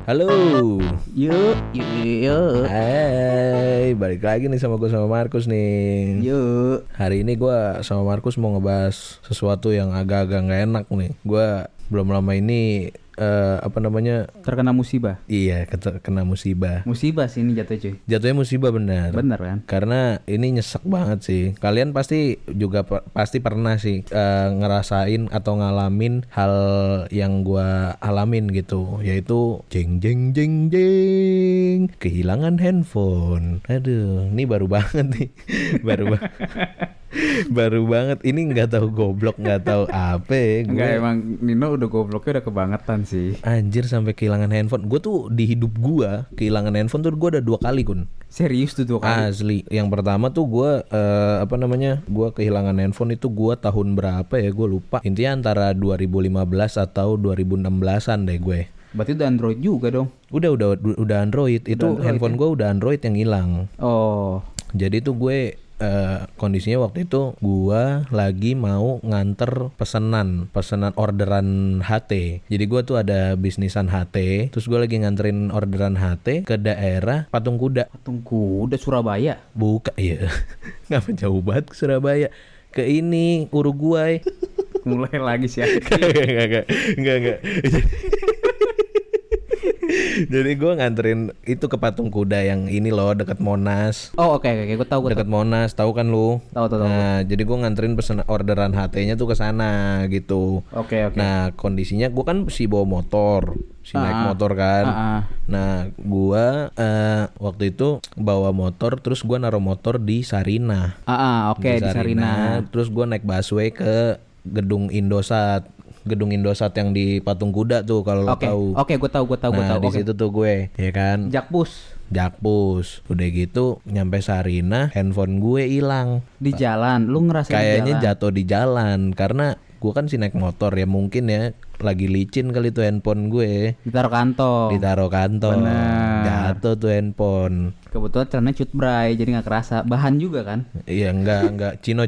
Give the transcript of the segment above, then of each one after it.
Halo. Yuk. Hai, balik lagi nih sama gue sama Markus nih. Yuk. Hari ini gue sama Markus mau ngebahas sesuatu yang agak-agak nggak enak nih. Gue belum lama ini Terkena musibah. Iya, kena musibah. Musibah sih ini jatuh cuy. Jatuhnya musibah benar. Bener kan? Karena ini nyesek banget sih. Kalian pasti juga pasti pernah sih ngerasain atau ngalamin hal yang gua alamin gitu, yaitu jeng jeng jeng jeng kehilangan handphone. Aduh, ini baru banget nih. baru banget. Ini nggak tahu goblok, nggak tahu apa. Enggak, emang Nino udah gobloknya udah kebangetan sih. Anjir, sampai kehilangan handphone. Gue tuh di hidup gue kehilangan handphone tuh gue ada 2 kali, Kun. Serius tuh 2 kali? Asli. Yang pertama tuh gue gue kehilangan handphone itu gue tahun berapa ya, gue lupa. Intinya antara 2015 atau 2016an deh gue. Berarti udah Android juga dong? Udah Android. Itu Android, handphone gue udah Android yang hilang. Oh. Jadi tuh gue kondisinya waktu itu gua lagi mau nganter pesanan orderan HT. Jadi gua tuh ada bisnisan HT, terus gua lagi nganterin orderan HT ke daerah Patung Kuda. Patung Kuda Surabaya? Bukan, iya. Ngapa jauh banget ke Surabaya? Ke ini Uruguay. Mulai lagi sih. Enggak. Jadi gue nganterin itu ke Patung Kuda yang ini loh, dekat Monas. Oh oke, gue tahu. Dekat Monas, tahu kan lu? Tahu. Nah, jadi gue nganterin pesan orderan HT-nya tuh ke sana gitu. Oke. Nah, kondisinya gue kan bawa motor, naik motor kan. Nah, gue waktu itu bawa motor, terus gue naruh motor di Sarinah. Oke, di Sarinah. Terus gue naik busway ke Gedung Indosat yang di Patung Kuda tuh, kalau lo tahu. Oke, gue tahu. Nah, di situ tuh gue, ya kan. Jakpus. Udah gitu nyampe Sarinah, handphone gue hilang. Di jalan, lu ngerasain kayaknya di jalan? Jatuh di jalan karena gue kan naik motor ya, mungkin ya lagi licin kali tuh handphone gue. Ditaruh kantong. Bener. Jatuh tuh handphone. Kebetulan celananya cut bray, jadi nggak kerasa. Bahan juga kan? Iya, enggak. Cino.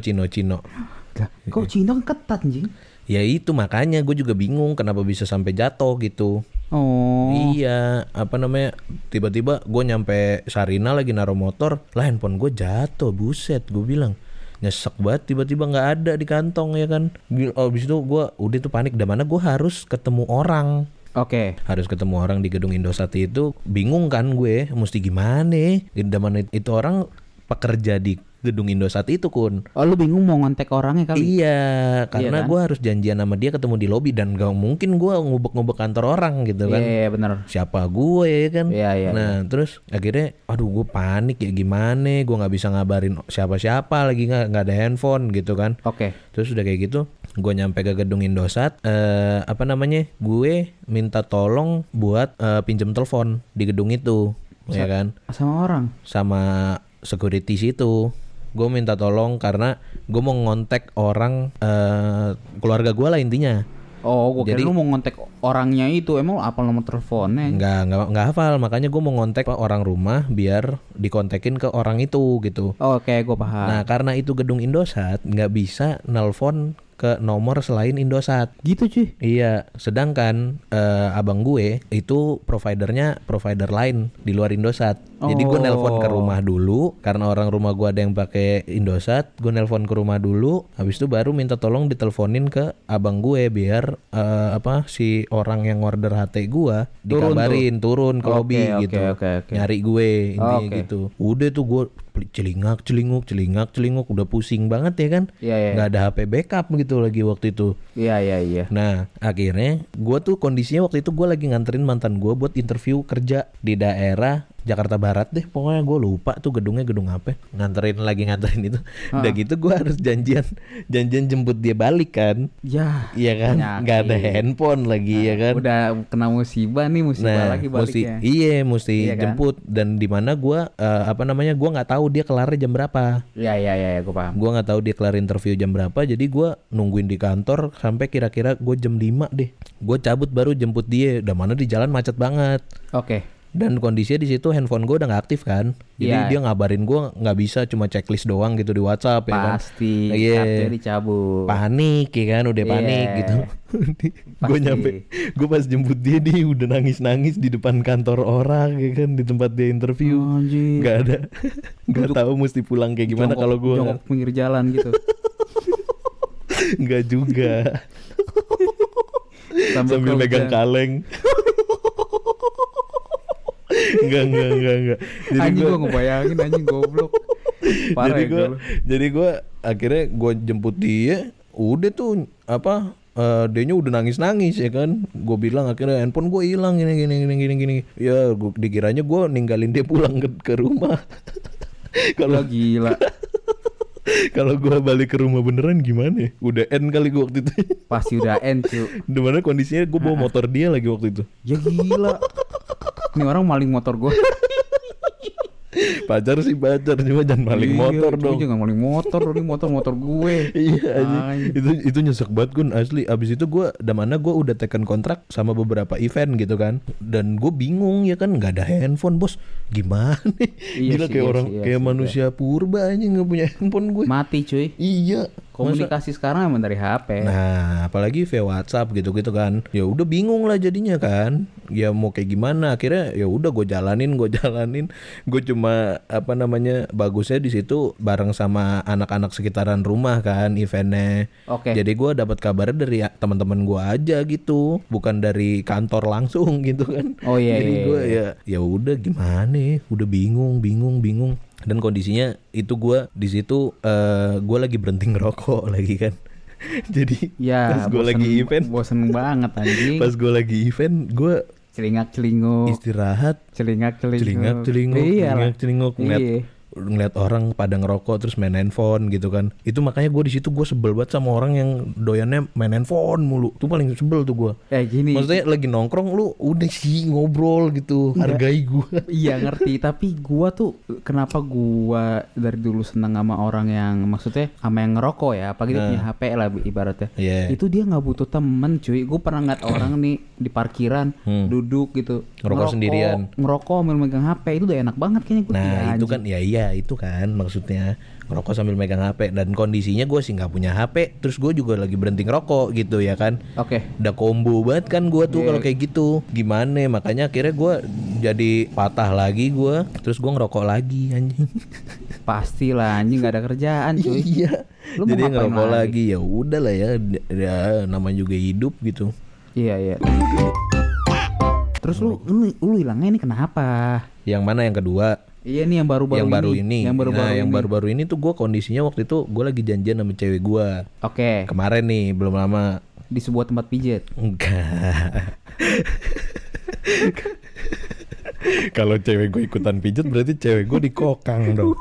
Kok Cino kan ketat anjing? Ya itu makanya gue juga bingung kenapa bisa sampai jatuh gitu. Oh. Iya, tiba-tiba gue nyampe Sarinah lagi naruh motor, lah handphone gue jatuh, buset, gue bilang. Nyesek banget, tiba-tiba nggak ada di kantong ya kan. Abis itu gue udah tuh panik, dan mana gue harus ketemu orang. Oke. Harus ketemu orang di Gedung Indosat itu, bingung kan gue, mesti gimana? Dan mana itu orang pekerja di Gedung Indosat itu, Kun. Oh, lu bingung mau ngontek orangnya kali? Iya, karena kan? gue harus janjian sama dia ketemu di lobi, dan gak mungkin gue ngubek-ngubek kantor orang gitu kan. Iya, bener. Siapa gue ya kan. Iya. Nah, terus akhirnya gue panik ya, gimana, gue gak bisa ngabarin siapa-siapa lagi, gak ada handphone gitu kan. Oke. Terus udah kayak gitu, gue nyampe ke Gedung Indosat, gue minta tolong buat pinjem telepon di gedung itu. Ya kan. Sama orang? Sama security situ. Gue minta tolong karena gue mau ngontek orang keluarga gue lah intinya. Oh, gue kira lu mau ngontek orangnya itu. Emang lu hafal nomor teleponnya? Enggak hafal, makanya gue mau ngontek orang rumah biar dikontekin ke orang itu gitu. Oke, gue paham. Nah, karena itu Gedung Indosat, nggak bisa nelpon ke nomor selain Indosat. Gitu cuy? Iya, sedangkan abang gue itu provider lain di luar Indosat. Jadi gue nelpon ke rumah dulu, karena orang rumah gue ada yang pakai Indosat. Gue nelpon ke rumah dulu, habis itu baru minta tolong diteleponin ke abang gue biar si orang yang order HT gue dikabarin turun ke lobby gitu. Nyari gue intinya gitu. Udah tuh gue celingak udah pusing banget ya kan. Nggak ada HP backup gitu lagi waktu itu. Iya. Nah, akhirnya gue tuh kondisinya waktu itu gue lagi nganterin mantan gue buat interview kerja di daerah Jakarta Barat deh, pokoknya gue lupa tuh gedung apa. Nganterin itu. Udah gitu gue harus janjian jemput dia balik kan. Ya. Iya kan. Nggak ada handphone lagi ya kan. Udah kena musibah lagi baliknya. Mesti jemput kan? Dan di mana gue gue nggak tahu dia kelarnya jam berapa. Iya, gue paham. Gue nggak tahu dia kelar interview jam berapa, jadi gue nungguin di kantor sampai kira-kira gue jam 5 deh. Gue cabut baru jemput dia. Udah mana di jalan macet banget. Oke. Dan kondisinya di situ handphone gue udah nggak aktif kan. Jadi Iya. dia ngabarin gue nggak bisa, cuma checklist doang gitu di WhatsApp ya kan. Pasti Iya. kartunya dicabut. Panik ya kan, udah panik Iya. gitu. Gue Pasti. nyampe, gue pas jemput dia udah nangis-nangis di depan kantor orang ya kan, di tempat dia interview. Anjir. Nggak ada, nggak tahu mesti pulang kayak gimana kalau gue. jongkok pinggir jalan gitu. Nggak juga. Sambil kerja. megang kaleng. Enggak. Anjing gue ngebayangin anjing goblok. Parah jadi ya gue lu. jadi gue akhirnya gue jemput dia, udah tuh apa, dianya udah nangis ya kan. Gue bilang akhirnya handphone gue hilang gini. Ya gua, dikiranya gue ninggalin dia pulang ke rumah. Kalau Gila. kalau gue balik ke rumah beneran gimana ya? Udah end kali gue waktu itu. Pasti udah end cu. Dimana kondisinya gue bawa motor dia lagi waktu itu. Ya gila. Ini orang maling motor gue. Pacar sih pacar, cuma jangan maling motor dong. Jangan maling motor dong, ini motor gue. Iya anjing. Anjing. Itu nyesek banget Gun, asli. Abis itu gue udah tekan kontrak sama beberapa event gitu kan. Dan gue bingung ya kan, nggak ada handphone bos. Gimana? Iya Gila sih, kayak iya orang sih, iya kayak sih, manusia purba aja nggak punya handphone gue. Mati cuy. Iya. Komunikasi sekarang emang dari HP. Nah, apalagi via WhatsApp gitu-gitu kan. Ya udah bingung lah jadinya kan. Ya mau kayak gimana? Akhirnya ya udah gue jalanin. Gue cuma apa namanya? Bagusnya di situ bareng sama anak-anak sekitaran rumah kan eventnya. Oke. Jadi gue dapat kabarnya dari teman-teman gue aja gitu, bukan dari kantor langsung gitu kan. Oh iya. Jadi iya, gue iya. ya udah gimana? Udah bingung. Dan kondisinya itu gue di situ gue lagi berhenti ngerokok lagi kan. Jadi Ya, pas gue lagi event, bosen banget anjing. pas gue lagi event gue Celingak-celinguk. istirahat, Celingak-celinguk. celingak-celinguk ngeliat orang pada ngerokok terus main handphone gitu kan. Itu makanya gue di situ gue sebel banget sama orang yang doyannya main handphone mulu. Itu paling sebel tuh gue. Gini. Maksudnya lagi nongkrong lu udah sih ngobrol gitu, hargai gue. Iya ngerti, tapi gua tuh kenapa gua dari dulu seneng sama orang yang maksudnya sama yang ngerokok ya, apalagi dia punya HP lah ibaratnya. Iya. Itu dia nggak butuh temen cuy. Gue pernah ngeliat orang nih di parkiran duduk gitu, Ngerokok sendirian. ngerokok sambil megang HP, itu udah enak banget kayaknya gue. Nah itu kan iya itu kan maksudnya ngerokok sambil megang HP. Dan kondisinya gue sih nggak punya HP, terus gue juga lagi berhenti ngerokok gitu ya kan. Oke. Udah combo banget kan gue tuh kalau kayak gitu. Gimana? Makanya akhirnya gue jadi patah lagi gue, terus gue ngerokok lagi anjing. Pastilah anjing nggak ada kerjaan cuy. Iya. Lu mau Jadi ngapain ngerokok lagi? lagi ya udah lah ya namanya juga hidup gitu. Iya. Terus lu hilangnya ini kenapa? Yang mana yang kedua? Iya nih yang baru-baru ini. Yang baru-baru ini tuh gue kondisinya waktu itu gue lagi janjian sama cewek gue. Oke. Kemarin nih belum lama. Di sebuah tempat pijat. Enggak. Kalau cewek gue ikutan pijat berarti cewek gue dikokang dong.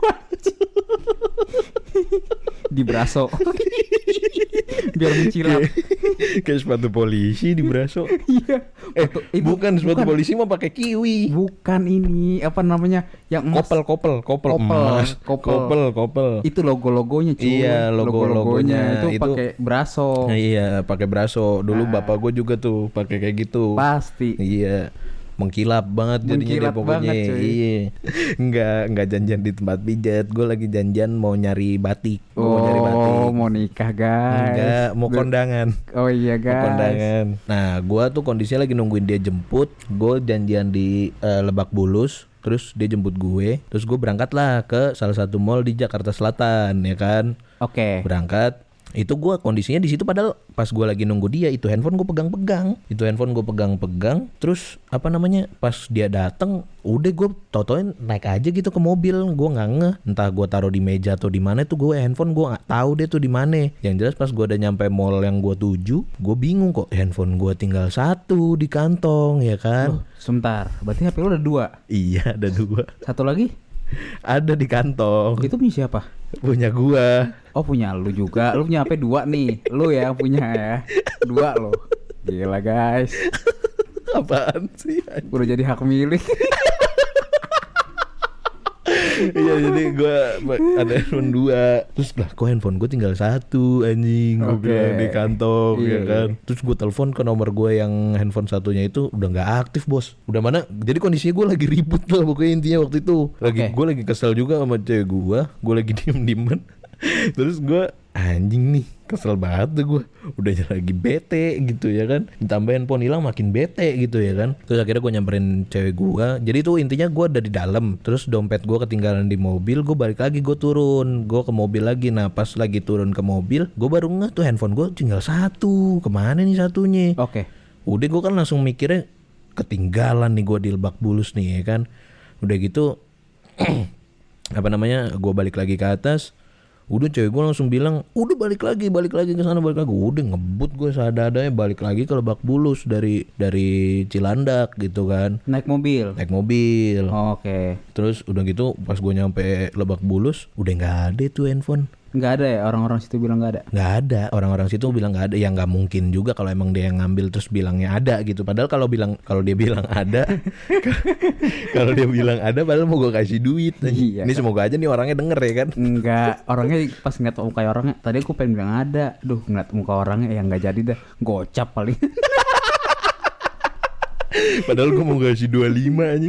Di braso. Biar mencilap. Kayak sepatu polisi di braso. Iya. Bukan sepatu polisi mah pakai kiwi. Bukan ini apa namanya yang emas. Kopel emas. Kopel. Itu logo-logonya cuy. Iya, logo-logonya. Itu pakai braso. Iya, pakai braso. Dulu bapak gue juga tuh pakai kayak gitu. Pasti. Iya. Mengkilap banget jadinya dia Mengkilap pokoknya. banget, cuy. Iya. Enggak janjian di tempat pijat. Gue lagi janjian mau nyari batik. Gua mau nyari batik. Mau nikah guys. Enggak, mau kondangan. Oh iya Mau guys. kondangan. Nah, gua tuh kondisinya lagi nungguin dia jemput. Gue janjian di Lebak Bulus. Terus dia jemput gue. Terus gue berangkat lah ke salah satu mall di Jakarta Selatan, ya kan. Oke. Berangkat. Itu gue kondisinya di situ padahal pas gue lagi nunggu dia itu handphone gue pegang-pegang. Terus apa namanya? Pas dia datang, udah gue tau-tauin naik aja gitu ke mobil. Gue nggak ngeh. Entah gue taruh di meja atau di mana tuh gue handphone gue nggak tahu deh tuh di mana. Yang jelas pas gue udah nyampe mall yang gue tuju, gue bingung kok handphone gue tinggal satu di kantong ya kan. Sebentar. Berarti HP lu ada 2. Iya ada 2. Satu lagi? Ada di kantong. Itu punya siapa? Punya gua. Oh punya lu juga. Lu punya HP 2 nih. Lu ya punya ya. 2 lo. Gila guys. Apaan sih? Udah jadi hak milik. Iya, jadi gue ada handphone 2. Terus lah kok handphone gue tinggal 1 anjing. Gue bilang di kantong ya kan. Terus gue telepon ke nomor gue yang handphone satunya itu udah gak aktif bos. Udah mana, jadi kondisinya gue lagi ribut lah pokoknya intinya waktu itu. Gue lagi kesel juga sama cewek gue lagi diem-dieman. Terus gue anjing nih, kesel banget tuh gue. Udah lagi bete gitu ya kan. Ditambah handphone hilang makin bete gitu ya kan. Terus akhirnya gue nyamperin cewek gue. Jadi tuh intinya gue ada di dalam. Terus dompet gue ketinggalan di mobil. Gue balik lagi, gue turun. Gue ke mobil lagi. Nah pas lagi turun ke mobil, gue baru ngeh tuh handphone gue tinggal 1. Kemana nih satunya? Udah gue kan langsung mikirnya ketinggalan nih gue di Lebak Bulus nih ya kan. Udah gitu gue balik lagi ke atas. Udah cewek gue langsung bilang, udah balik lagi ke sana, balik lagi. Udah ngebut gue seadanya balik lagi ke Lebak Bulus dari Cilandak gitu kan. Naik mobil. Oke. Terus udah gitu pas gue nyampe Lebak Bulus udah nggak ada tuh handphone. Nggak ada ya, orang-orang situ bilang nggak ada? Nggak ada, orang-orang situ bilang nggak ada. Ya nggak mungkin juga kalau emang dia yang ngambil terus bilangnya ada gitu. Padahal kalau dia bilang ada, kalau dia bilang ada, padahal mau gue kasih duit. Iya, ini semoga aja nih orangnya denger ya kan? Enggak, orangnya pas ngeliat muka orangnya, tadi aku pengen bilang ada, ngeliat muka orangnya ya nggak jadi dah, gocap paling. Padahal gue mau kasih 25 aja.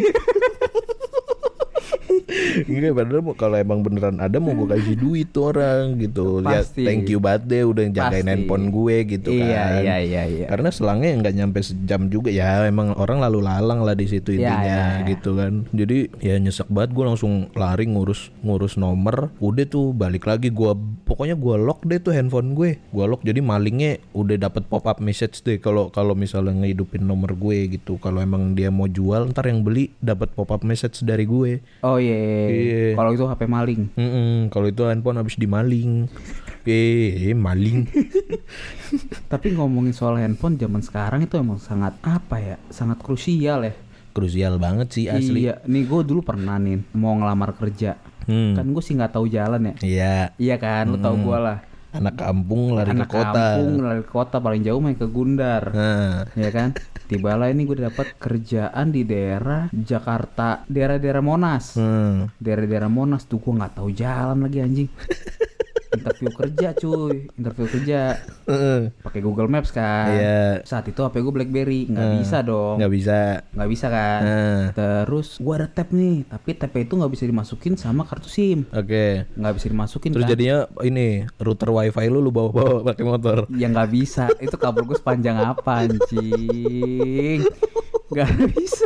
Enggak, padahal kalau emang beneran ada mau gue kasih duit tuh orang gitu. Pasti. Ya thank you banget deh udah jagain handphone gue gitu kan. Iya. Karena selangnya nggak nyampe sejam juga ya, emang orang lalu lalang lah di situ intinya gitu kan. Jadi ya nyesek banget, gue langsung lari ngurus nomor. Udah tuh balik lagi pokoknya gue lock deh tuh handphone gue. Gue lock jadi malingnya udah dapet pop up message deh kalau misalnya ngehidupin nomor gue gitu. Kalau emang dia mau jual ntar yang beli dapat pop up message dari gue. Oh iya. Kalau itu HP maling. Kalau itu handphone habis dimaling. Maling. Tapi ngomongin soal handphone zaman sekarang itu emang sangat sangat krusial ya. Krusial banget sih asli. Iya, nih gue dulu pernah nih mau ngelamar kerja. Kan gue sih nggak tahu jalan ya. Iya kan, lu tahu gue lah. Anak kampung lari ke kota. Paling jauh main ke Gundar. Ya kan. Tibalah ini gue dapat kerjaan di daerah Jakarta, daerah Monas. Daerah Monas tuh gue nggak tahu jalan lagi anjing. Interview kerja pakai Google Maps kan. Saat itu HP gue BlackBerry, nggak bisa kan. Terus gue ada tab nih, tapi tab itu nggak bisa dimasukin sama kartu SIM. Nggak bisa dimasukin. Terus kan? Jadinya ini router wifi lu bawa pakai motor. Ya nggak bisa, itu kabel gue sepanjang apa anjing. Nggak bisa.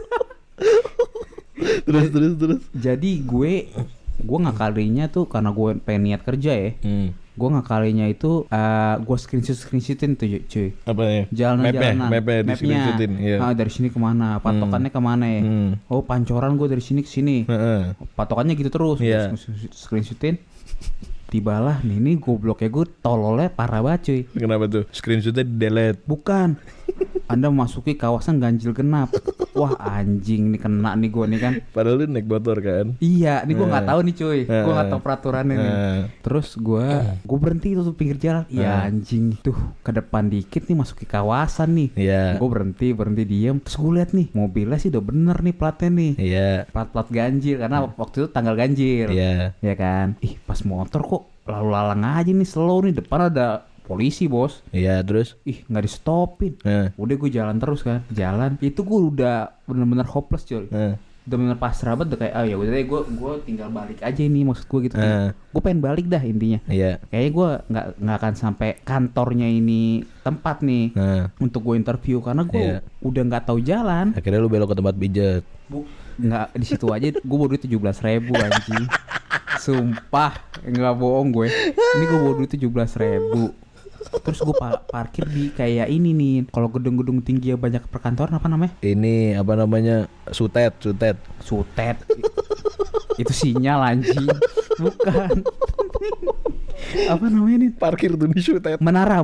Terus Jadi gue ngakalinya tuh karena gue pengen niat kerja ya. Gue ngakalinya itu gue screenshotin tuh cuy. Apa ya? Jalanan mapnya. Iya. Dari sini kemana? Patokannya kemana ya? Oh Pancoran, gue dari sini ke sini. Patokannya gitu terus. Screenshotin. Tibalah nih gobloknya gue tololnya parah banget cuy. Kenapa tuh? Screenshotnya delete? Bukan. Anda memasuki kawasan ganjil genap. Wah anjing nih kena nih gue nih kan. Padahal lu naik motor kan? Iya, nih gue nggak tahu nih cuy. Gue nggak tahu peraturannya nih. Terus gue berhenti tuh pinggir jalan. Iya anjing tuh ke depan dikit nih masuk ke kawasan nih. Gue berhenti diem. Terus gue lihat nih mobilnya sih udah bener nih platnya nih. Plat ganjil karena waktu itu tanggal ganjil. Iya kan. Ih pas motor kok lalu lalang aja nih, slow nih, depan ada polisi bos. Terus? Nggak di stopin. Udah gue jalan terus kan. Itu gue udah bener-bener hopeless coy. Udah bener pasrah banget, udah kayak ya udah deh gue tinggal balik aja ini, maksud gue gitu. Gue pengen balik dah intinya. Kayaknya gue nggak akan sampai kantornya ini tempat nih untuk gue interview karena gue udah nggak tahu jalan. Akhirnya lu belok ke tempat pijat. Nggak, di situ aja gue bawa duit 17.000 anjing. Sumpah nggak bohong gue. Ini gue bawa duit 17.000. Terus gue parkir di kayak ini nih. Kalau gedung-gedung tinggi ya banyak perkantoran apa namanya? Ini apa namanya? Sutet. Itu sinyal anjing. Bukan. Apa namanya nih? Parkir tuh di Sutet. Menara.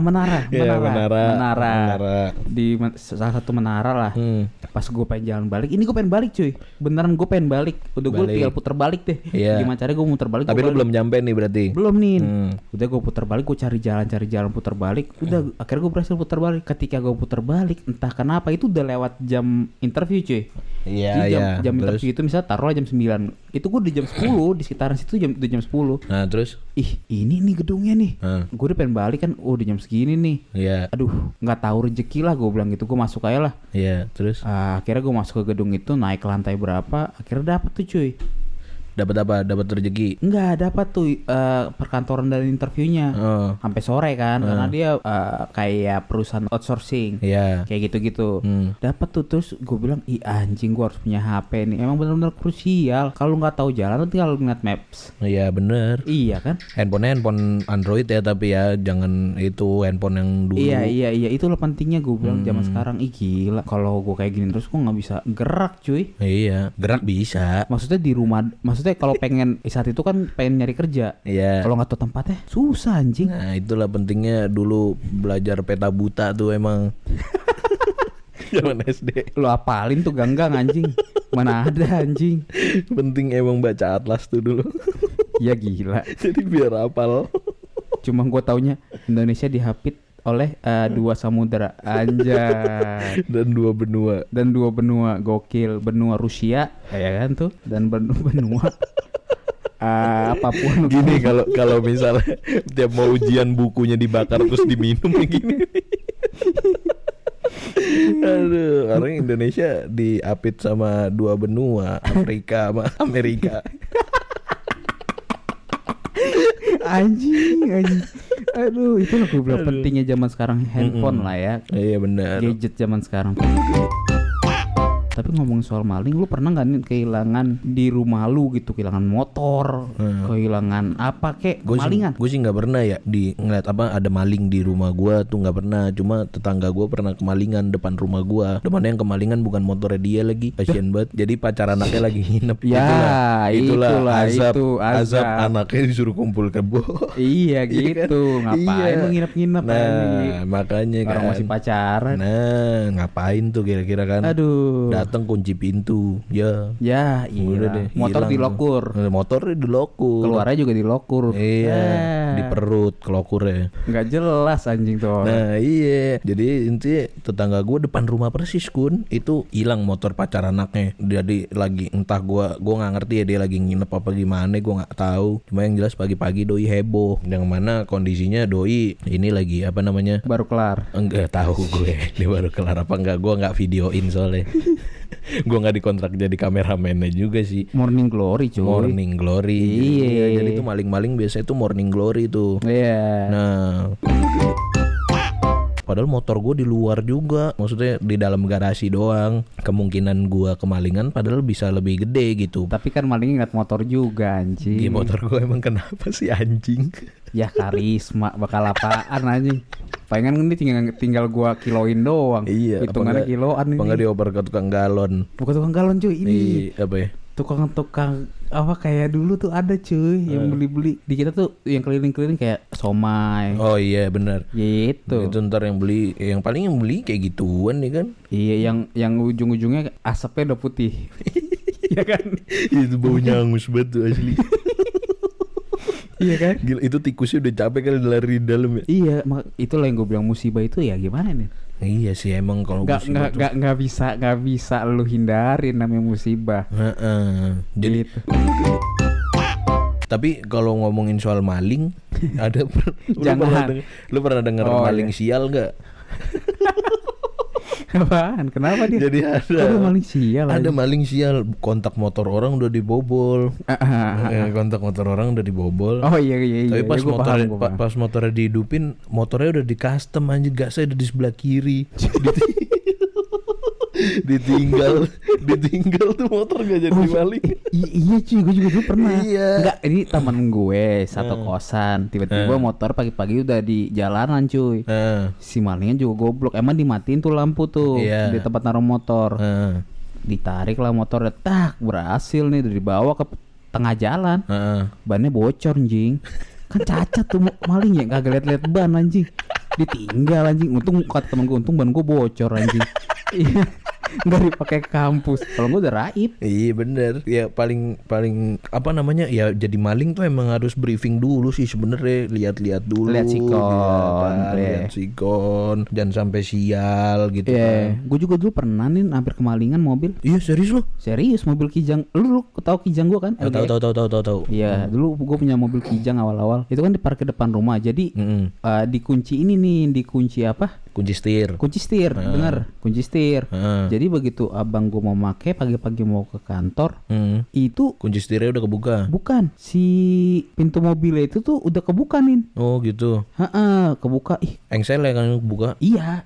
Menara. Di salah satu menara lah. Pas gue pengen jalan balik, ini gue pengen balik cuy. Beneran gue pengen balik. Udah gue tinggal puter balik deh. Gimana caranya gue muter balik. Tapi lu belum nyampe nih berarti? Belum nih. Udah gue puter balik, gue cari jalan puter balik. Udah akhirnya gue berhasil puter balik. Ketika gue puter balik, entah kenapa itu udah lewat jam interview cuy. Iya, Jadi iya. jam Terus? interview itu misalnya taruhlah jam 9. Itu gue di jam 10 di sekitaran situ jam 10. Nah, terus? Ih, ini nih gedungnya nih. Gue udah pengen balik kan, udah jam segini nih. Iya. Aduh, nggak tahu rezeki lah gue bilang gitu. Gue masuk aja lah. Iya, terus? Akhirnya gue masuk ke gedung itu, naik ke lantai berapa, akhirnya dapet tuh cuy. Dapat apa? Dapat rezeki. Enggak dapat tuh perkantoran dan interviewnya sampai sore kan, karena dia kayak perusahaan outsourcing. Iya. Kayak gitu-gitu. Dapat tuh, terus gue bilang, ih anjing, gue harus punya HP nih. Emang benar-benar krusial. Kalau nggak tahu jalan tuh tinggal ngeliat maps. Iya, bener. Iya kan? Handphone Android ya, tapi ya jangan itu handphone yang dulu. Iya, itulah pentingnya gue bilang zaman sekarang. Ih gila, kalau gue kayak gini terus gue nggak bisa gerak cuy. Iya, gerak bisa. Maksudnya di rumah, maksudnya kalau pengen saat itu kan pengen nyari kerja. Iya. Kalau nggak tahu tempatnya susah anjing. Nah, itulah pentingnya dulu belajar peta buta tuh emang. Zaman SD. Lo apalin tuh ganggang anjing. Mana ada anjing. Penting emang baca atlas tuh dulu. Ya gila. Jadi biar hafal. Cuma gue taunya Indonesia dihapit oleh 2 samudera, anjay. Dan 2 benua. Gokil. Benua Rusia, ya kan tuh, dan benua apapun. Gini, kalau misalnya tiap mau ujian bukunya dibakar terus diminum gini. Aduh, orang Indonesia diapit sama 2 benua, Afrika sama Amerika. Anjing. Aduh, itu gue bilang pentingnya zaman sekarang handphone lah ya. Iya benar. Gadget zaman sekarang. Tapi ngomong soal maling, lu pernah nggak nih kehilangan di rumah lu gitu, kehilangan motor, kehilangan apa kek, kemalingan? Gue sih nggak pernah ya ngeliat apa ada maling di rumah gue tuh, nggak pernah. Cuma tetangga gue pernah kemalingan depan rumah gue. Depannya yang kemalingan bukan motornya dia lagi, kasian banget. Jadi pacar anaknya lagi nginep. Ya, itulah azab anaknya disuruh kumpul kebo. Iya gitu, ngapain lu nginep-nginep? Nah, makanya kan. Orang masih pacaran. Nah, ngapain tuh kira-kira kan? Aduh. Datang kunci pintu, ya iya. Motor dilokur. Motornya dilokur. Keluarnya juga dilokur. Iya, di perut kelokurnya. Nggak jelas anjing tuh. Nah iya, jadi intinya tetangga gue depan rumah persis Kun, itu hilang motor pacar anaknya. Jadi lagi entah gue nggak ngerti ya dia lagi nginep apa gimana, gue nggak tahu. Cuma yang jelas pagi-pagi doi heboh, yang mana kondisinya doi ini lagi apa namanya? Baru kelar. Enggak tahu gue dia baru kelar apa enggak, gue nggak videoin soalnya. Gue nggak dikontrak jadi kameramennya juga sih. Morning Glory cuy. Morning Glory. Iya. Jadi tuh maling-maling biasanya tuh Morning Glory tuh. Iya. Nah, padahal motor gue di luar juga, maksudnya di dalam garasi doang. Kemungkinan gue kemalingan padahal bisa lebih gede gitu. Tapi kan malingnya ngeliat motor juga anjing. Di motor gue emang kenapa sih anjing? Ya karisma, bakal apaan anjing. Palingan ini tinggal gua kiloin doang. Iya. Hitungannya kiloan ini. Apa nggak dioper ke tukang galon? Bukan tukang galon cuy, ini. Apa ya? Tukang apa kayak dulu tuh ada cuy yang beli-beli di kita tuh yang keliling-keliling kayak somai. Oh iya benar. Gitu. Itu ntar yang beli, yang paling yang beli kayak gituan nih kan? Iya, yang ujung-ujungnya asapnya udah putih. Iya kan? Itu baunya hangus banget tuh asli. Iya kan? Gila, itu tikusnya udah capek kali lari di dalam ya. Iya, itulah yang gue bilang musibah itu ya gimana nih? Iya sih emang kalau musibah nggak bisa lu hindarin namanya musibah. Jadi gitu. Tapi kalau ngomongin soal maling, ada lu pernah dengar maling sial nggak? Apaan? Kenapa dia? Jadi ada maling sial. Ada maling sial, kontak motor orang udah dibobol. Kontak motor orang udah dibobol. Oh iya. Tapi pas motornya dihidupin, motornya udah di custom anjir, gasnya udah di sebelah kiri. ditinggal tuh motor gak jadi maling. Iya cuy, gue juga dulu pernah. Iya. Enggak, ini temen gue satu kosan, tiba-tiba motor pagi-pagi udah di jalanan cuy. Si malingnya juga goblok, emang dimatiin tuh lampu tuh di tempat naruh motor. Ditarik lah motor, tak berhasil nih, udah dibawa ke tengah jalan. Bannya bocor anjing. Kan cacat tuh maling ya, kagak liat-liat ban anjing. Ditinggal anjing. Untung kata temen gue, untung ban gue bocor anjing. Iya. nggak dipakai ke kampus. Kalau gue udah raib. Iya bener. Ya paling apa namanya ya, jadi maling tuh emang harus briefing dulu sih sebenarnya. Lihat-lihat dulu. Lihat sikon. Lihat sikon. Jangan sampai sial gitu kan. Gue juga dulu pernah nih hampir kemalingan mobil. Iya serius lo? Serius, mobil Kijang. Lu tahu Kijang gue kan? Tahu. Iya, dulu gue punya mobil Kijang awal-awal. Itu kan diparkir depan rumah. Jadi dikunci ini nih, dikunci apa? Kunci setir. Bener, kunci setir. Jadi begitu abang gue mau make pagi-pagi mau ke kantor, itu kunci setirnya udah kebuka. Bukan, si pintu mobilnya itu tuh udah kebuka nih. Oh gitu. Kebuka. Engsel ya kan kebuka. Iya.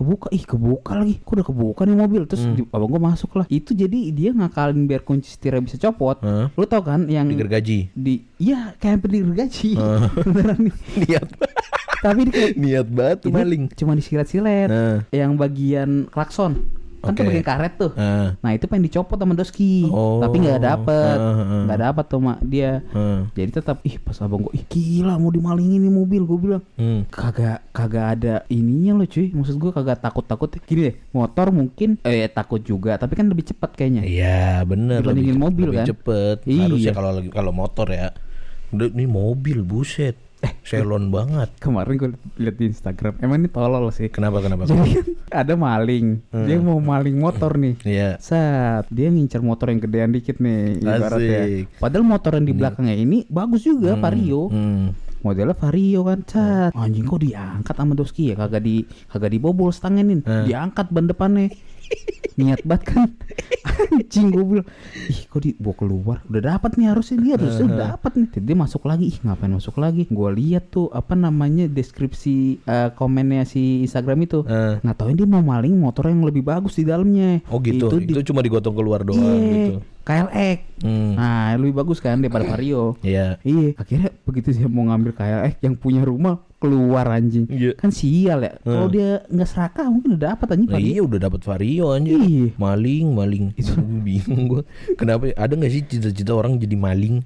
Kebuka lagi. Kok udah kebuka nih mobil. Terus abang gue masuk lah. Itu jadi dia ngakalin biar kunci setirnya bisa copot. Lu tau kan yang digergaji. Iya, kayak hampir digergaji. Beneran nih. Niat. Tapi niat banget tuh maling. Cuma disilet-silet. Yang bagian klakson kan tuh bagian karet tuh. Nah itu pengen dicopot sama Doski. Tapi nggak dapet tuh mak dia. Jadi tetap pas abang gue gila mau dimalingin nih mobil. Gue bilang kagak ada ininya loh cuy. Maksud gue kagak takut gini deh, motor mungkin takut juga tapi kan lebih cepat kayaknya. Iya bener, dibandingin mobil lebih kan cepet. Harusnya kalau motor ya. Udah nih mobil buset. Selon banget. Kemarin gue liat di Instagram. Emang ini tolol sih. Kenapa? Jadi kan ada maling. Dia mau maling motor nih. Iya. Dia ngincer motor yang gedean dikit nih ibaratnya. Padahal motor yang di belakangnya ini bagus juga, Vario. Modelnya Vario kan. Anjing kok diangkat sama Doski ya? Kagak dibobol stangnya nih. Diangkat ban depannya. Niat banget kan. Anjing gue bilang kok dibawa keluar. Udah dapat nih harusnya udah dapat nih. Jadi dia masuk lagi. Ngapain masuk lagi? Gue lihat tuh apa namanya deskripsi komennya si Instagram itu. Nggak tauin dia mau maling motor yang lebih bagus di dalamnya. Oh gitu. Itu cuma digotong keluar doang gitu. KLX. Nah lebih bagus kan daripada Vario. Iya. Akhirnya begitu dia mau ngambil KLX yang punya rumah keluar anjing. Kan sial ya. Kalau dia nggak serakah mungkin udah dapat anjing. Iya udah dapat Vario anjing. Maling. Itu bingung gue. Kenapa? Ada nggak sih cita-cita orang jadi maling?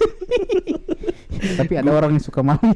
Tapi ada orang yang suka maling.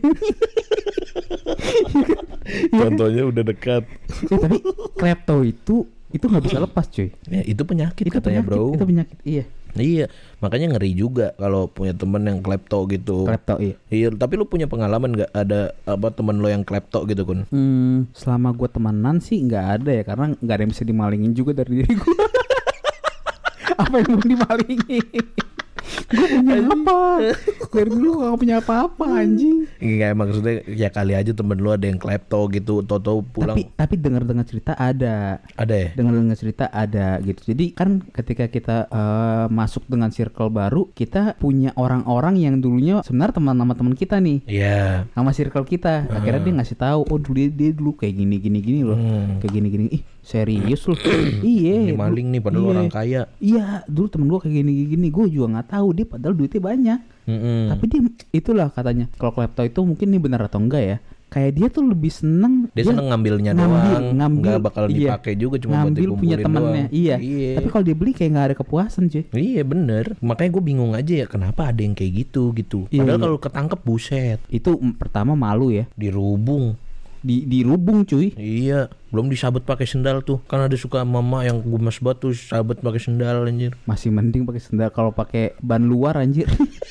Contohnya udah dekat. Tapi klepto itu nggak bisa lepas cuy. Ya, itu penyakit katanya bro. Itu penyakit Iya, makanya ngeri juga kalau punya temen yang klepto gitu. Iya, tapi lu punya pengalaman nggak ada temen lo yang klepto gitu Kun? Selama gue temenan sih nggak ada ya, karena nggak ada yang bisa dimalingin juga dari diri gue. Apa yang mau dimalingin? Gue punya apa? Dari dulu gak punya apa-apa anjing. Enggak, maksudnya ya kali aja temen lu ada yang klepto gitu, toto pulang. Tapi dengar cerita ada. Ada ya? Dengar cerita ada gitu. Jadi kan ketika kita masuk dengan circle baru, kita punya orang-orang yang dulunya sebenarnya teman sama teman kita nih. Iya. Sama circle kita. Akhirnya dia ngasih tahu, oh dia dulu kayak gini loh. Kayak gini. Serius loh. Iya. Ini maling nih padahal orang kaya. Iya, dulu temen gue kayak gini. Gue juga nggak tahu dia padahal duitnya banyak. Tapi dia itulah katanya. Kalau klepto itu mungkin ini benar atau enggak ya? Kayak dia tuh lebih seneng. Dia seneng ngambilnya doang. Nggak bakal dipakai juga, cuma buat dikumpulin punya temennya. Doang. Iya. Tapi kalau dia beli kayak nggak ada kepuasan cuy. Iya bener. Makanya gue bingung aja ya kenapa ada yang kayak gitu. Padahal kalau ketangkep buset. Itu pertama malu ya. Dirubung. Dirubung cuy. Iya, belum disabet pakai sendal tuh. Kan ada suka mama yang gumes batu sabet pakai sendal anjir. Masih mending pakai sendal, kalau pakai ban luar anjir.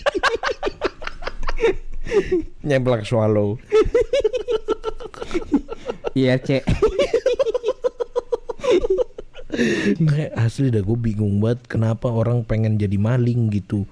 Nyemplak swallow. Iya, Cek. Kayak asli dah gue bingung banget kenapa orang pengen jadi maling gitu.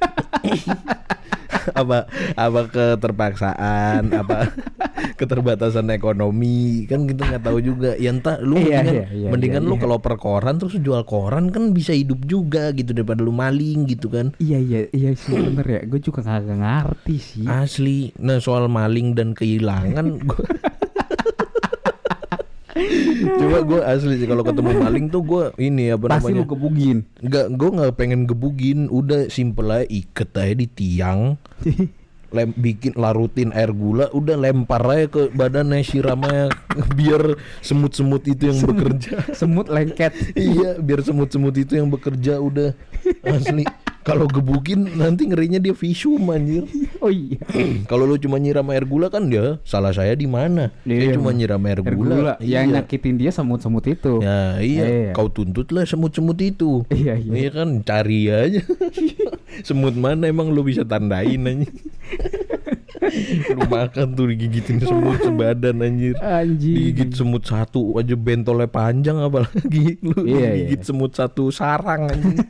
apa keterpaksaan, apa keterbatasan ekonomi, kan kita nggak tahu juga ya. Entah lu mendingan lu kalau per koran terus jual koran kan bisa hidup juga gitu daripada lu maling gitu kan. Iya sih bener ya, gue juga nggak ngerti sih asli. Nah soal maling dan kehilangan coba gue asli sih kalau ketemu maling tuh gue ini apa pasti namanya? Pasti lu gebugin. Enggak, gue nggak pengen gebugin. Udah simple aja, iket aja di tiang. Bikin larutin air gula, udah lempar aja ke badannya, siramnya biar semut-semut itu yang bekerja. Semut lengket. Iya, biar semut-semut itu yang bekerja udah asli. Kalau gebukin nanti ngerinya dia visum anjir. Oh iya. Kalau lu cuma nyiram air gula kan dia salah saya di mana? Saya cuma nyiram air gula. Yang nyakitin dia semut-semut itu. Ya iya. Kau tuntutlah semut-semut itu. Iya. Iya kan cari aja. Semut mana emang lu bisa tandain aja. Lu makan tuh digigitin semut sebadan anjir. Digigit semut satu aja bentolnya panjang, apalagi lu gigit semut satu sarang anjir.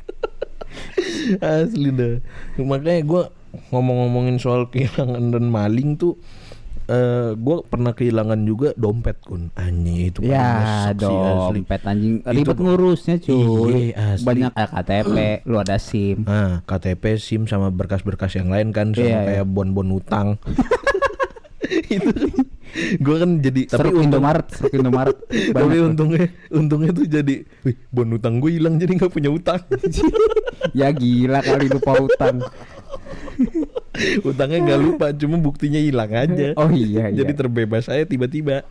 Asli dah. Makanya gue ngomongin soal kehilangan dan maling tuh, gue pernah kehilangan juga dompet kun. Anjing itu ya dompet anjing ribet ngurusnya cuy. Banyak KTP, lu ada SIM. KTP, SIM sama berkas-berkas yang lain kan, sama kayak bon-bon utang. Itu gue kan jadi tapi Indomaret. Tapi untungnya tuh jadi, bon utang gue hilang jadi nggak punya utang. Ya gila kali lupa utang. Utangnya nggak lupa, cuma buktinya hilang aja. Oh iya. Jadi terbebas saya tiba-tiba.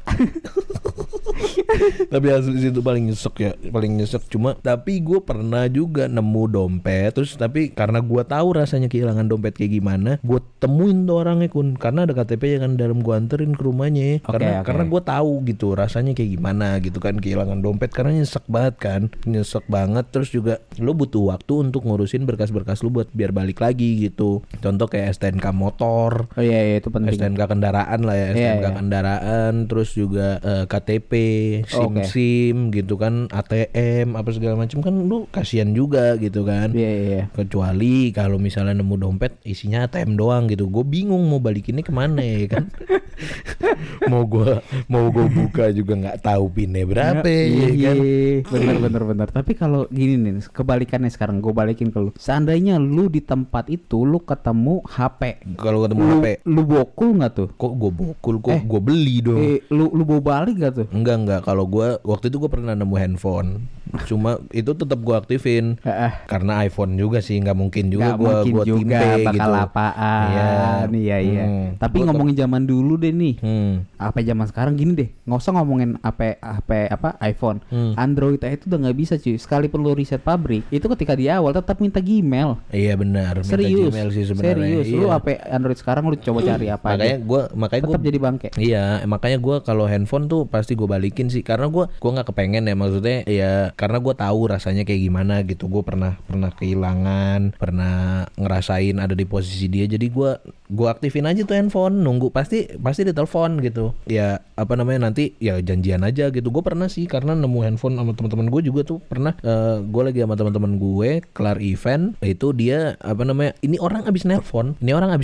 Tapi asli itu paling nyesek. Cuma tapi gue pernah juga nemu dompet, terus tapi karena gue tahu rasanya kehilangan dompet kayak gimana, gue temuin tuh orangnya kun, karena ada KTP kan dalam, gue anterin ke rumahnya. Karena gue tahu gitu rasanya kayak gimana gitu kan kehilangan dompet, karena nyesek banget. Terus juga lo butuh waktu untuk ngurusin berkas-berkas lo buat biar balik lagi gitu. Contoh kayak STNK motor. Oh iya itu penting. STNK kendaraan lah ya, STNK kendaraan, terus juga KTP, SIM gitu kan, ATM apa segala macam kan, lu kasihan juga gitu kan. Iya. Kecuali kalau misalnya nemu dompet isinya ATM doang gitu, gue bingung mau balikinnya kemana ya kan. mau gue buka juga nggak tahu pinnya berapa ya kan. Bener. Tapi kalau gini nih, kebalikannya sekarang gue balikin ke lu. Seandainya lu di tempat itu lu ketemu HP. Kalau ketemu HP, lu bokul nggak tuh? Kok gue bokul? Gue beli dong. Lu bawa balik gak tuh? Enggak. Kalau gue waktu itu gue pernah nemu handphone, cuma itu tetap gue aktifin karena iPhone juga sih, nggak mungkin juga gue timpe bakal gitu. Apaan? Iya. Tapi ngomongin zaman dulu deh nih. Apa zaman sekarang gini deh, nggak usah ngomongin HP apa iPhone, Android itu udah nggak bisa cuy. Sekalipun lu riset pabrik, itu ketika di awal tetap minta Gmail. Iya benar. Serius. Gmail sih sebenarnya. Serius. Lu HP Android sekarang lu coba cari apa? Makanya tetap gue jadi bangke. Iya, makanya gue kalau handphone tuh pasti gue balikin sih, karena gue nggak kepengen ya, maksudnya ya karena gue tahu rasanya kayak gimana gitu. Gue pernah kehilangan, pernah ngerasain ada di posisi dia, jadi gue aktifin aja tuh handphone, nunggu pasti ditelepon gitu ya, apa namanya, nanti ya janjian aja gitu. Gue pernah sih karena nemu handphone sama teman-teman gue juga tuh pernah. Gue lagi sama teman-teman gue kelar event itu, dia apa namanya, ini orang abis nelpon,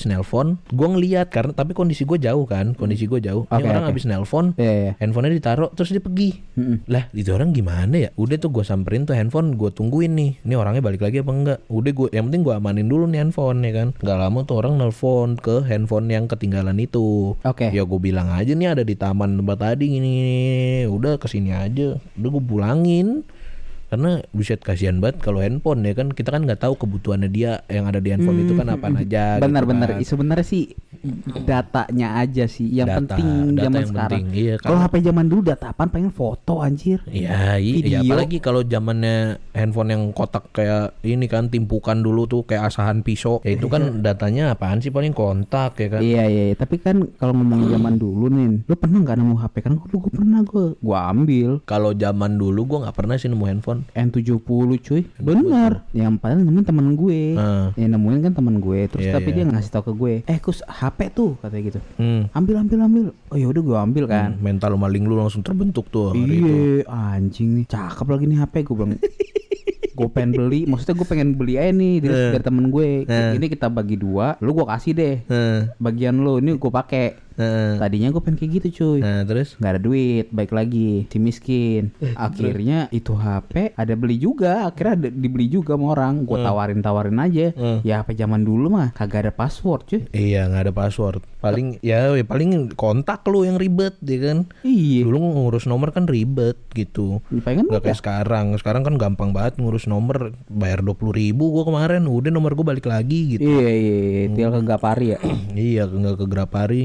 gue ngeliat karena tapi kondisi gue jauh. Ini orang abis nelpon, handphonenya ditaruh terus dia pergi. Lah itu orang gimana ya? Udah tuh gue samperin tuh handphone, gue tungguin nih, ini orangnya balik lagi apa enggak. Udah gue, yang penting gue amanin dulu nih handphone ya kan. Gak lama tuh orang nelpon ke handphone yang ketinggalan itu. Ya gue bilang aja nih ada di taman tempat tadi gini. Udah kesini aja, udah gue pulangin. Karena buset kasihan banget kalau handphone ya kan, kita kan nggak tahu kebutuhannya dia yang ada di handphone itu kan apa aja. Benar. Gitu kan. Sebenarnya sih datanya aja sih yang penting zaman sekarang. Iya, kalau HP zaman dulu data apaan, pengen foto anjir. Iya, apalagi kalau zamannya handphone yang kotak kayak ini kan, timpukan dulu tuh kayak asahan pisau. Ya itu kan datanya apaan sih, paling kontak ya kan. Iya. Tapi kan kalau ngomongin zaman dulu nih, lu pernah nggak nemu HP? Kan gue pernah, gue ambil. Kalau zaman dulu gue nggak pernah sih nemu handphone. N70 cuy. Bener. Yang paling nemuin temen gue. Yang nemuin kan temen gue. Terus tapi dia ngasih tau ke gue, kus HP tuh katanya gitu. Ambil. Oh ya udah gue ambil kan. Mental maling lu langsung terbentuk tuh. Iya anjing nih, cakep lagi nih HP. Gue bilang gue pengen beli, maksudnya gue pengen beli aja nih dari temen gue. Ini kita bagi 2, lu gue kasih deh bagian lu, ini gue pakai. Tadinya gue pengen kayak gitu cuy. Terus nggak ada duit, baik lagi si miskin. Akhirnya itu HP ada beli juga, akhirnya dibeli juga sama orang. Gue tawarin aja. Ya HP zaman dulu mah kagak ada password cuy. Iya, nggak ada password. Paling paling kontak lu yang ribet ya kan. Iya. Dulu ngurus nomor kan ribet gitu. Nggak kayak sekarang. Sekarang kan gampang banget ngurus nomor, bayar 20.000 gue kemarin, udah nomor gue balik lagi gitu. Iya. Tinggal ke Grapari ya. Iya, nggak ke Grapari, cepet.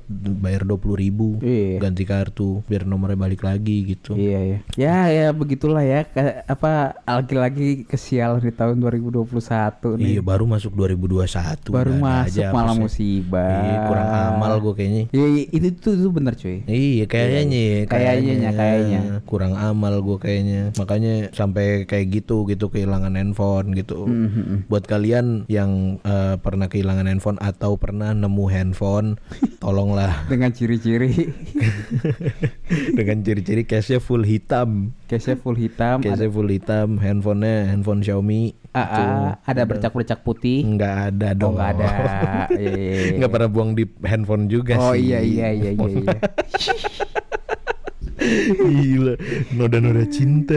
bayar 20.000 ganti kartu biar nomornya balik lagi gitu. Iya. Ya begitulah ya. Lagi-lagi kesialan di tahun 2021 nih. Iya, baru masuk 2021. Baru masuk malah musibah. Iya, kurang amal gue kayaknya. Iya, itu bener cuy. Iya, Kayaknya. Kurang amal gue kayaknya. Makanya sampai kayak gitu kehilangan handphone gitu. Buat kalian yang pernah kehilangan handphone atau pernah nemu handphone, tolonglah dengan ciri-ciri case-nya full hitam. Handphonenya handphone Xiaomi. Ada bercak-bercak putih? Enggak ada dong. Enggak ada. Enggak pernah buang di handphone juga sih. Oh iya. Gila, noda cinta.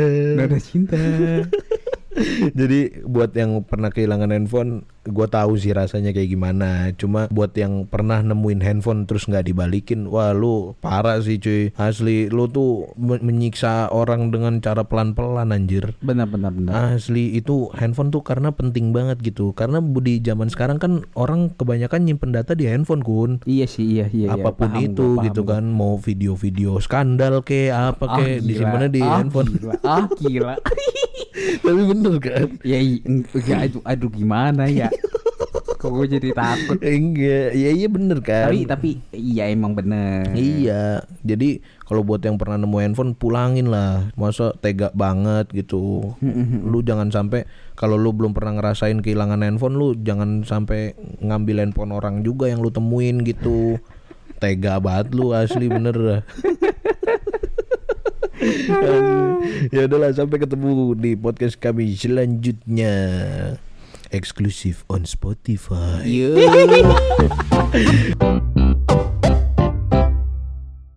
Jadi buat yang pernah kehilangan handphone, gue tahu sih rasanya kayak gimana. Cuma buat yang pernah nemuin handphone terus nggak dibalikin, wah lu parah sih cuy. Asli lu tuh menyiksa orang dengan cara pelan-pelan anjir. Benar. Asli itu handphone tuh karena penting banget gitu. Karena di zaman sekarang kan orang kebanyakan nyimpen data di handphone kun. Iya sih. Apapun paham itu gua. gitu kan, mau video-video skandal kayak apa kayak disimpannya di handphone. Gila. Tapi bener kan? Ya aduh gimana ya? Kok gue jadi takut? Enggak, iya bener kan? Tapi iya emang bener. Iya, jadi kalau buat yang pernah nemu handphone pulangin lah. Masa tega banget gitu. Lu jangan sampai, kalau lu belum pernah ngerasain kehilangan handphone, lu jangan sampai ngambil handphone orang juga yang lu temuin gitu. Tega banget lu asli bener. Ya udahlah, sampai ketemu di podcast kami selanjutnya, eksklusif on Spotify.